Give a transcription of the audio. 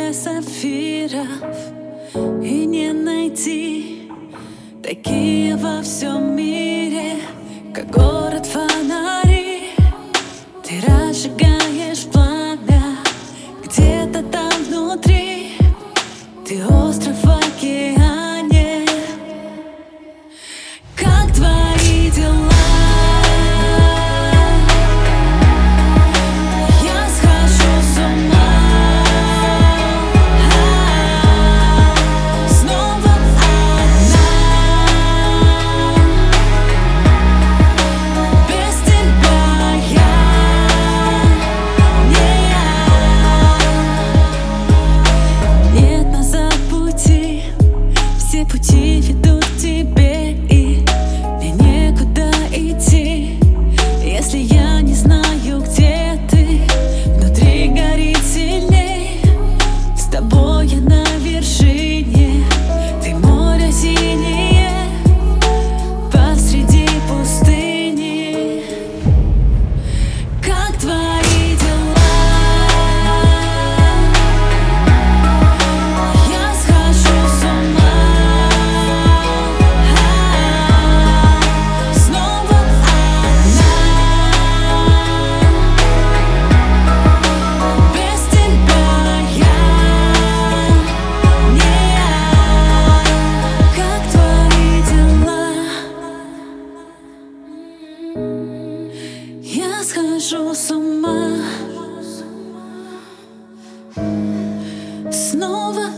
море сапфиров, и не найти такие во всем мире, как город фонари. Ты разжигаешь пламя где-то там внутри. Ты остров в океане. Как твои дела? Я схожу с ума. Снова одна. Без тебя я не я. Нет назад пути, все пути ведут к тебе, и мне некуда идти. Если я не знаю, где ты, внутри горит сильней. С тобой я на вершине, ты море синее посреди пустыни. Как твои дела? Я схожу с ума. Снова одна. Без тебя я не я. Как твои дела? Я схожу с ума. Снова